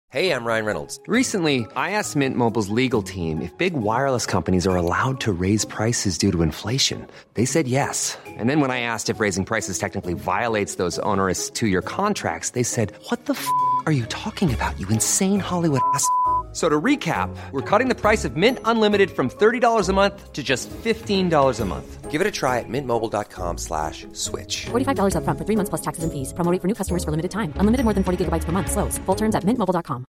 Hey, I'm Ryan Reynolds. Recently, I asked Mint Mobile's legal team if big wireless companies are allowed to raise prices due to inflation. They said yes. And then when I asked if raising prices technically violates those onerous two-year contracts, they said, "What the f*** are you talking about, you insane Hollywood ass?" So to recap, we're cutting the price of Mint Unlimited from $30 a month to just $15 a month. Give it a try at mintmobile.com/switch. $45 up front for 3 months plus taxes and fees. Promo rate for new customers for limited time. Unlimited more than 40 gigabytes per month. Slows full terms at mintmobile.com.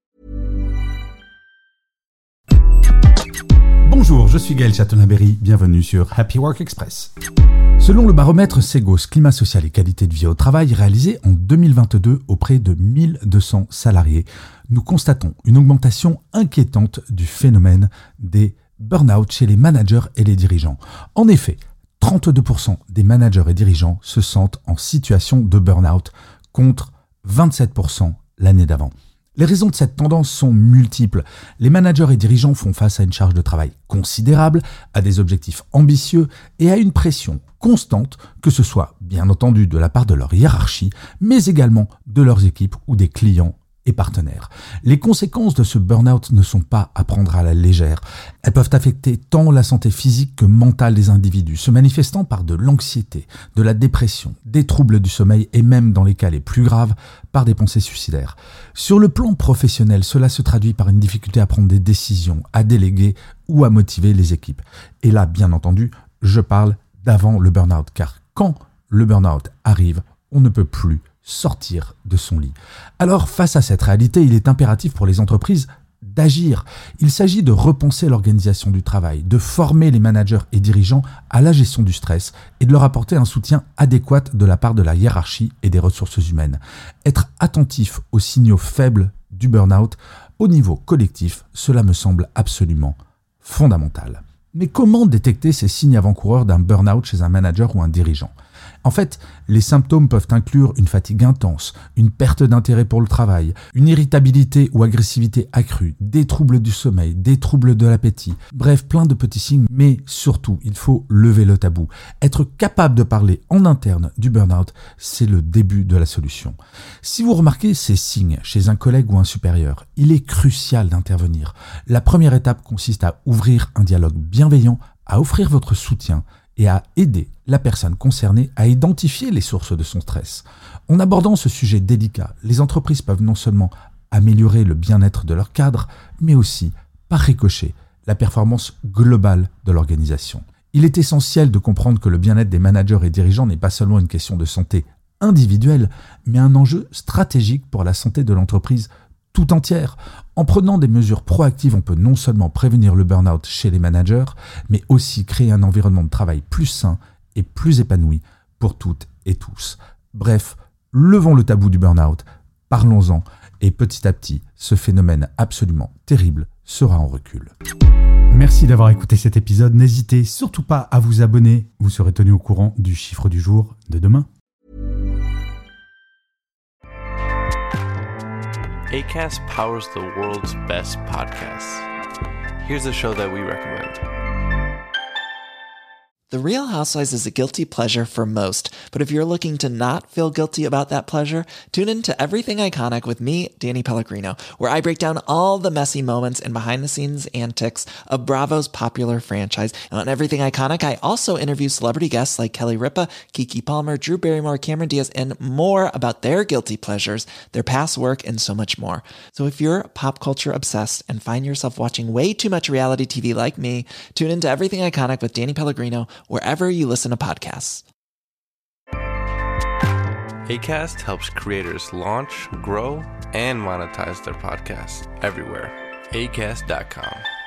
Bonjour, je suis Gaël Chatonaberry, bienvenue sur Happy Work Express. Selon le baromètre Segos Climat Social et Qualité de Vie au Travail réalisé en 2022 auprès de 1200 salariés, nous constatons une augmentation inquiétante du phénomène des burn-out chez les managers et les dirigeants. En effet, 32% des managers et dirigeants se sentent en situation de burn-out contre 27% l'année d'avant. Les raisons de cette tendance sont multiples. Les managers et dirigeants font face à une charge de travail considérable, à des objectifs ambitieux et à une pression constante, que ce soit bien entendu de la part de leur hiérarchie, mais également de leurs équipes ou des clients et partenaires. Les conséquences de ce burn-out ne sont pas à prendre à la légère. Elles peuvent affecter tant la santé physique que mentale des individus, se manifestant par de l'anxiété, de la dépression, des troubles du sommeil et même, dans les cas les plus graves, par des pensées suicidaires. Sur le plan professionnel, cela se traduit par une difficulté à prendre des décisions, à déléguer ou à motiver les équipes. Et là, bien entendu, je parle d'avant le burn-out, car quand le burn-out arrive, on ne peut plus sortir de son lit. Alors, face à cette réalité, il est impératif pour les entreprises d'agir. Il s'agit de repenser l'organisation du travail, de former les managers et dirigeants à la gestion du stress et de leur apporter un soutien adéquat de la part de la hiérarchie et des ressources humaines. Être attentif aux signaux faibles du burn-out au niveau collectif, cela me semble absolument fondamental. Mais comment détecter ces signes avant-coureurs d'un burn-out chez un manager ou un dirigeant ? En fait, les symptômes peuvent inclure une fatigue intense, une perte d'intérêt pour le travail, une irritabilité ou agressivité accrue, des troubles du sommeil, des troubles de l'appétit, bref, plein de petits signes, mais surtout, il faut lever le tabou. Être capable de parler en interne du burn-out, c'est le début de la solution. Si vous remarquez ces signes chez un collègue ou un supérieur, il est crucial d'intervenir. La première étape consiste à ouvrir un dialogue bienveillant, à offrir votre soutien et à aider la personne concernée à identifier les sources de son stress. En abordant ce sujet délicat, les entreprises peuvent non seulement améliorer le bien-être de leurs cadres, mais aussi, par ricochet, la performance globale de l'organisation. Il est essentiel de comprendre que le bien-être des managers et dirigeants n'est pas seulement une question de santé individuelle, mais un enjeu stratégique pour la santé de l'entreprise tout entière. En prenant des mesures proactives, on peut non seulement prévenir le burn-out chez les managers, mais aussi créer un environnement de travail plus sain et plus épanoui pour toutes et tous. Bref, levons le tabou du burn-out, parlons-en, et petit à petit, ce phénomène absolument terrible sera en recul. Merci d'avoir écouté cet épisode. N'hésitez surtout pas à vous abonner. Vous serez tenu au courant du chiffre du jour de demain. Acast powers the world's best podcasts. Here's a show that we recommend. The Real Housewives is a guilty pleasure for most, but if you're looking to not feel guilty about that pleasure, tune in to Everything Iconic with me, Danny Pellegrino, where I break down all the messy moments and behind-the-scenes antics of Bravo's popular franchise. And on Everything Iconic, I also interview celebrity guests like Kelly Ripa, Keke Palmer, Drew Barrymore, Cameron Diaz, and more about their guilty pleasures, their past work, and so much more. So if you're pop culture obsessed and find yourself watching way too much reality TV like me, tune into Everything Iconic with Danny Pellegrino, wherever you listen to podcasts. Acast helps creators launch, grow, and monetize their podcasts everywhere. Acast.com.